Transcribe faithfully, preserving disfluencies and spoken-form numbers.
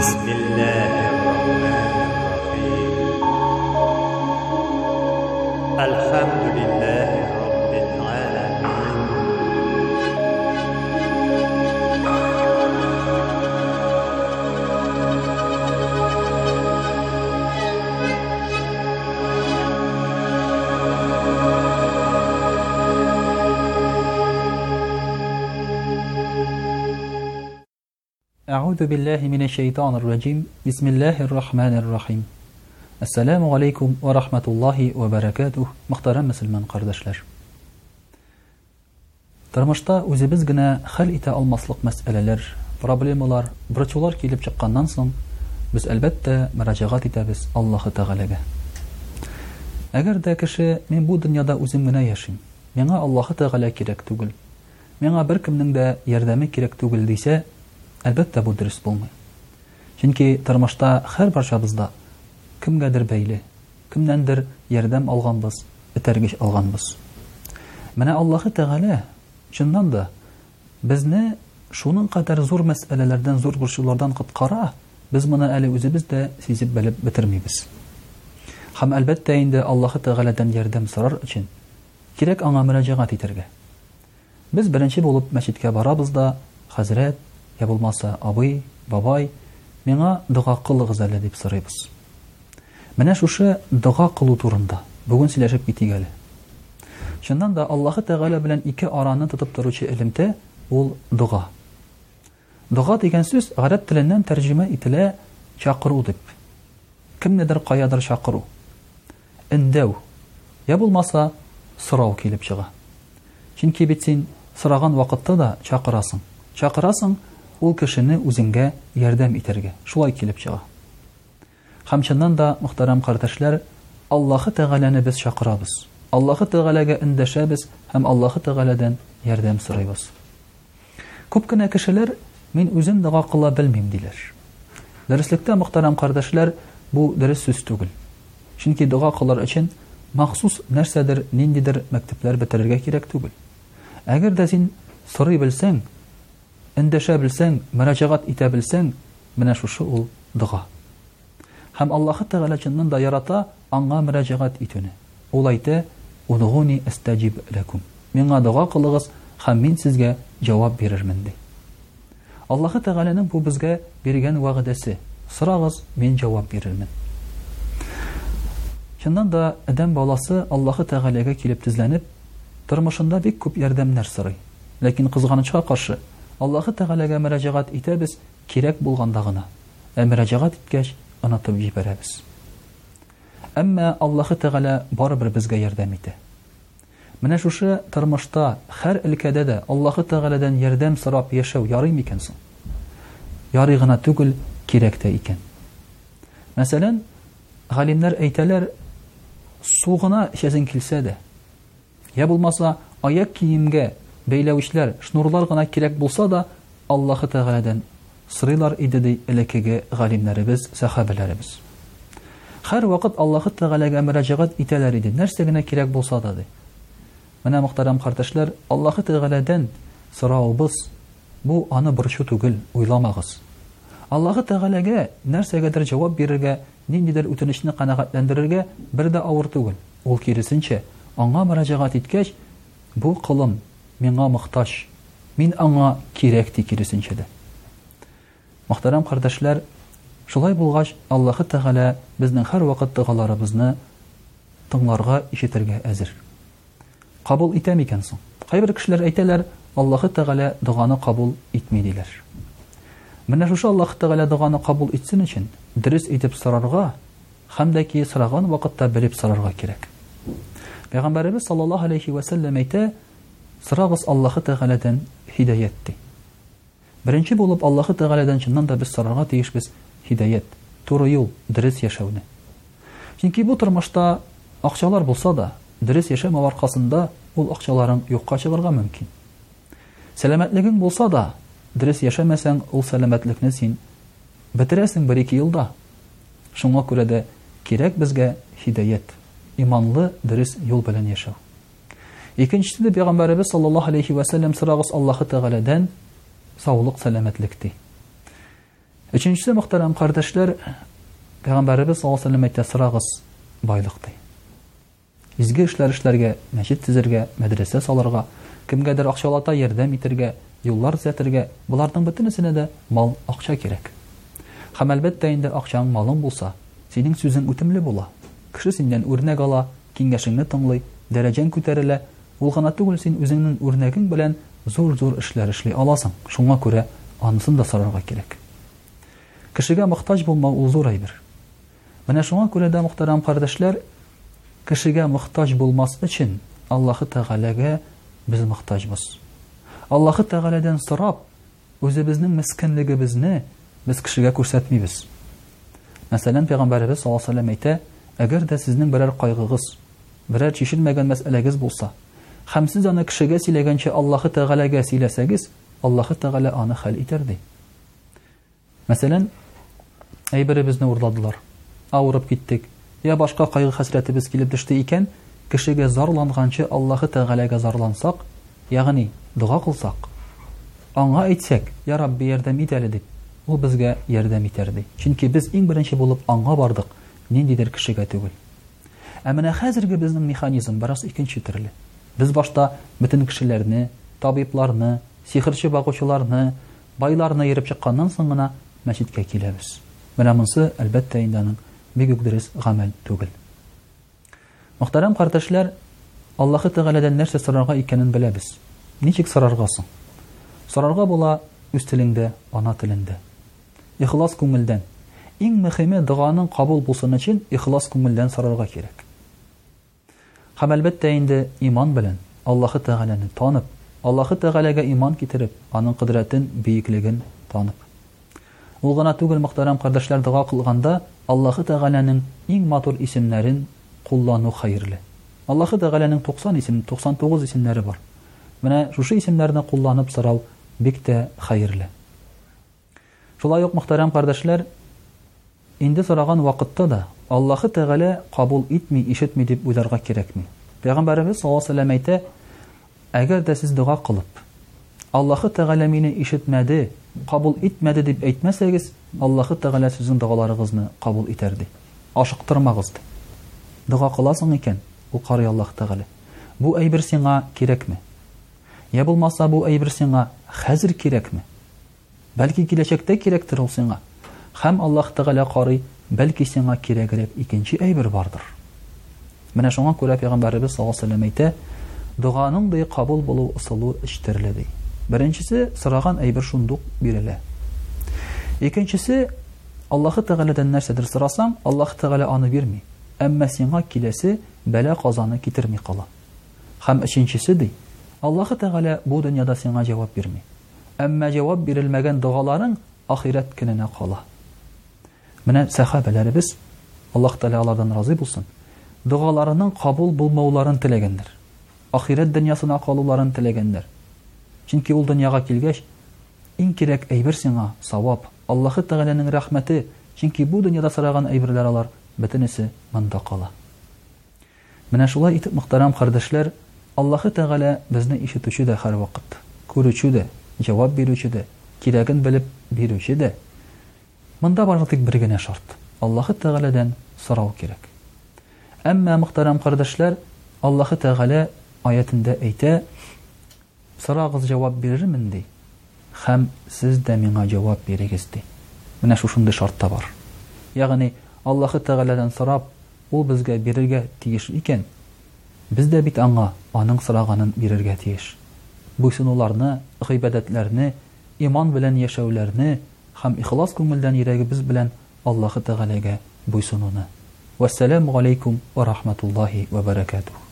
بسم الله الرحمن الرحيم الحمد لله رب العالمين أعوذ بالله من الشيطان الرجيم بسم الله الرحمن الرحيم Assalamu alaikum wa rahmatullahi wa barakatuh. Muhtaram musulmon qardoshlar. Тормышта үзебез генә хәл итә алмаслык мәсьәләләр, проблемалар, бурычлар килеп чыкканнан соң, без әлбәттә мөрәҗәгать итәбез Аллаһ Тәгаләгә. Әгәр дә кеше мин бу дөньяда үзем генә яшим, миңа Аллаһ Тәгалә кирәк түгел, миңа беркемнең дә ярдәме кирәк түгел дисә, әлбәттә бу дөрес булмый. Чөнки тормышта һәр барчабызда кемгәдер бәйле, кемнәндер ярдәм алганбыз, этәргеч алганбыз. Менә Аллаһ Тәгалә чыннан да безне шуның кадәр зур мәсьәләләрдән, зур бурычлардан коткара, без моны әле үзебез дә сизеп белеп бетермибез. Һәм әлбәттә инде Аллаһ Тәгаләдән ярдәм сорар өчен кирәк аңа мөрәҗәгать итәргә. Без беренче булып мәчеткә барабыз да, хәзрәт, я булмаса абый, бабай, миңа дуга кылыгыз әле дип сорыйбыз. Менә шушы дуга кылу турында бүген сөйләшеп китик әле. Шуннан да Аллаһ Тәгалә белән ике араны тотып торучы элемтә ул дуга. Дуга дигән сүз гарәп теленнән тәрҗемә ителә чакыру дип. Кемнедер каядыр чакыру. Эндәү. Я булмаса сорау килеп чыга. Чөнки бит син сораган вакытта да чакырасың. Чакырасың ул кешене үзеңгә ярдәм итәргә. Шулай килеп чыга. Һәм чыннан да, мөхтәрәм кардәшләр, Аллаһ Тәгаләне без чакырабыз. Аллаһ Тәгаләгә эндәшәбез һәм Аллаһ Тәгаләдән ярдәм сорыйбыз. Күп кенә кешеләр мин үзем дуга кыла белмим диләр. Дәреслектә, мөхтәрәм кардәшләр, бу дөрес сүз түгел. Чөнки дуга кылыр өчен махсус нәрсәдер, ниндидер мәктәпләр бетерергә кирәк түгел. Әгәр дә син сорый белсәң, эндәшә белсәң, мөрәҗәгать итә белсәң, менә шушы ул дуга. Һәм Аллаһ Тәгалә чыннан да ярата аңа мөрәҗәгать итүне. Ул әйтә: "Удгуни астаҗиб лакум." Миңа дуга кылыгыз, һәм мин сезгә җавап бирермен ди. Аллаһ Тәгаләнең бу безгә биргән вәгъдәсе: "Сорагыз, мин җавап бирермен." Чыннан да адәм баласы Аллаһ Тәгаләгә килеп тезләнеп, тормышында бик күп ярдәмнәр сорый. Ләкин кызганычка каршы, Аллаһ Тәгаләгә мөрәҗәгать итәбез кирәк булганда гына. Ә мөрәҗәгать иткәч онытып җибәрәбез. Әмма Аллаһ Тәгалә барыбер безгә ярдәм итә. Менә шушы тормышта һәр өлкәдә дә Аллаһ Тәгаләдән ярдәм сорап яшәү ярый микән соң? Ярый гына түгел, кирәк тә икән. Мәсәлән, галимнәр әйтәләр, сугына эчәсең килсә дә, я булмаса аяк киемгә бәйләүчләр, шнурлар гына кирәк булса да, Аллаһ Тәгаләдән сырыйлар иде ди элекеге галимнәребез, сахабәләребез. Һәр вакыт Аллаһ Тәгаләгә мөрәҗәгать итәләр иде, нәрсә генә кирәк булса да ди. Менә мөхтәрәм кардәшләр, Аллаһ Тәгаләдән сораубыз, бу аны бурычы түгел, уйламагыз. Аллаһ Тәгаләгә нәрсәгәдер җавап бирергә, ниндидер үтенечне канәгатьләндерергә бер дә авыр түгел. Ул киресенчә, аңа мөрәҗәгать иткәч, бу кылым миңа мохтаҗ, мин аңа кирәк ди киресенчә дә. Мөхтәрәм кардәшләр, шулай булгач, Аллаһ Тәгалә безнең һәр вакыт дугаларыбызны тыңларга, ишетергә әзер. Кабул итә микән соң? Кайбер кешеләр әйтәләр, Аллаһ Тәгалә дуганы кабул итми диләр. Менә шушы Аллаһ Тәгалә дуганы кабул итсен өчен дөрес итеп сорарга, һәм дә ки сораган вакытта белеп сорарга кирәк. Пәйгамбәрбез саллаллаһу алейхи ва саллям әйтә: "Сорагыз Аллаһ Тәгаләдән һидаят" ди. Беренче булып Аллаһ Тәгаләдән чыннан да без сорарга тиешбез һидаят, туры юл, дөрес яшәүне. Чөнки бу тормышта акчалар булса да, дөрес яшәмәү аркасында ул акчаларың юкка чыгарга мөмкин. Сәламәтлегең булса да, дөрес яшәмәсәң, ул сәламәтлекне син бетерәсең бер-ике елда. Шуңа күрә дә кирәк безгә һидаят, иманлы, дөрес юл белән яшәү. Икенчесе дә Пәйгамбәрбез саллаллаһу алейхи ва саллям сорагыз Аллаһ Тәгаләдән саулык, сәламәтлек ди. Өченчесе, мөхтәрәм кардәшләр, Пәйгамбәрбез саллаллаһу алейһи ва сәллям әйтә: "Сырагыз байлыкты. Изге эшләр эшләргә, мәчет төзергә, мәдрәсә салырга, кемгәдер акчалата ярдәм итәргә, юллар төзәтергә, буларның бөтенесенә дә мал, акча кирәк. Һәм әлбәттә инде акчаң, малың булса, синең сүзең үтемле була. Кеше синнән үрнәк ала, киңәшеңне тыңлый, дәрәҗәң күтәрелә. Ул гына түгел, син үзеңнең үрнәгең белән зур-зур эшләр эшли аласың. Шуңа күрә анысын да сорарга кирәк. Кешегә мохтаҗ булмау ул зур әйбер. Менә шуңа күрә дә, мөхтәрәм кардәшләр, кешегә мохтаҗ булмас өчен Аллаһы Тәгаләгә без мохтаҗбыз. Аллаһы Тәгаләдән сорап, үзебезнең мискенлегебезне без кешегә күрсәтмибез. Мәсәлән, Пәйгамбәрбез саллаллаһу алейһи ва сәллям әйтә: "Әгәр дә сезнең берәр кайгыгыз, берәр чишелмәгән мәсьәләгез булса, һәм сез аны кешегә сөйләгәнчә Аллаһы Тәгаләгә сөйләсәгез, Аллаһы Тәгалә аны хәл итәр" ди. Мәсәлән, әйберебезне урладылар, авырып киттек, я башка кайгы хәсрәтебез килеп төште икән, кешегә зарланганчы Аллаһы Тәгаләгә зарлансак, ягъни дуга кылсак, аңа әйтсәк: "Я Рабби, ярдәм ит әле" дип, ул безгә ярдәм итәр ди. Чөнки без иң беренче булып аңа бардык, ниндидер кешегә түгел. Ә менә хәзерге безнең механизм бераз икенче төрле. Без башта бөтен кешеләрне, табибларны, сихерче багучыларны, байларны йөреп чыкканнан соң гына мәчеткә киләбез. Менә монсы әлбәттә инде аның бик үк дөрес гамәл түгел. Мөхтәрәм кардәшләр, Аллаһы Тәгаләдән нәрсә сорарга икәнен беләбез. Ничек сорарга соң? Сорарга була үз телеңдә, ана телендә. Ихлас күңелдән. Иң мөһиме, дуганың кабул булсын өчен ихлас күңелдән сорарга кирәк. Һәм әлбәттә инде иман белән Аллаһы Тәгаләне танып, Аллаһы Тәгаләгә иман китереп, аның кудрәтен, бийеклеген танып. Ул гына түгел, мөхтәрәм кардәшләр, дуга кылганда Аллаһы Тәгаләнең иң матур исемнәрен куллану хәерле. Аллаһы Тәгаләнең туксан исем, туксан тугыз исемнәре бар. Менә шушы исемнәрне кулланып сорау бик тә хәерле. Шулай ук, мөхтәрәм кардәшләр, инде сораган вакытта да Аллаһы Тәгалә кабул итми, ишетми дип уйларга кирәкми. Пәйгамбәрбез саллаллаһу алейһи ва сәллям әйтә: "Әгәр дә сез дуга кылып, Аллаһы Тәгалә мине ишетмәде, кабул итмәде дип әйтмәсәгез, Аллаһы Тәгалә сезнең дугаларыгызны кабул итәр" ди. Ашыктырмагыз ди. Дуга кыласың икән, ул карый Аллаһ Тәгалә. Бу әйбер сиңа кирәкме? Я булмаса, бу әйбер сиңа хәзер кирәкме? Бәлки киләчәктә кирәктер ул сиңа. Һәм Аллаһ Тәгалә карый, бәлки сиңа кирәгрәк икенче әйбер бардыр. Менә шуңа күрә Пәйгамбәрбез саллаллаһу алейһи ва сәллям әйтә: "Дуганың да кабул булу ысулы өч төрле" ди. Беренчесе, сораган әйбер шундук бирелә. Икенчесе, Аллаһы Тәгаләдән нәрсәдер сорасаң, Аллаһ Тәгалә аны бирми, әмма сиңа киләсе бәла казаны китерми кала. Һәм өченчесе ди, Аллаһы Тәгалә бу дөньяда сиңа җавап бирми, әмма җавап бирелмәгән дугаларың ахират көненә кала. Менә сахабаларыбыз, Аллаһ Тәгалә алардан разый булсын, дугаларының кабул булмауларын теләгәннәр. Ахират дөньясына калуларын теләгәннәр. Чөнки ул дөньяга килгәч, иң кирәк әйбер сиңа савап, Аллаһы Тәгаләнең рәхмәте, чөнки бу дөньяда сораган әйберләр алар бөтенесе монда кала. Менә шулай итеп, мөхтәрәм кардәшләр, Аллаһы Тәгалә безне ишетүче дә һәр вакыт, күрүче дә, җавап бирүче дә, кирәген белеп бирүче дә. Монда бары тик бер генә шарт: Аллаһы Тәгаләдән сорау кирәк. Әмма, мөхтәрәм кардәшләр, Аллаһы Тәгалә аятында әйтә: "Сорагыз, җавап бирермен" ди. Һәм сез дә миңа җавап бирегез ди. Менә шушындый шарт та бар. Ягъни, Аллаһы Тәгаләдән сорап, ул безгә бирергә тиеш икән, без дә бит аңа аның сораганын бирергә тиеш. Буйсынуларны, гыйбадәтләрне, иман белән яшәүләрне һәм ихлас күңелдән йөрәгебез белән Аллаһы Тәгаләгә буйсынуны. Вассаламу алейкум ва рахматуллаһи ва баракатуһ.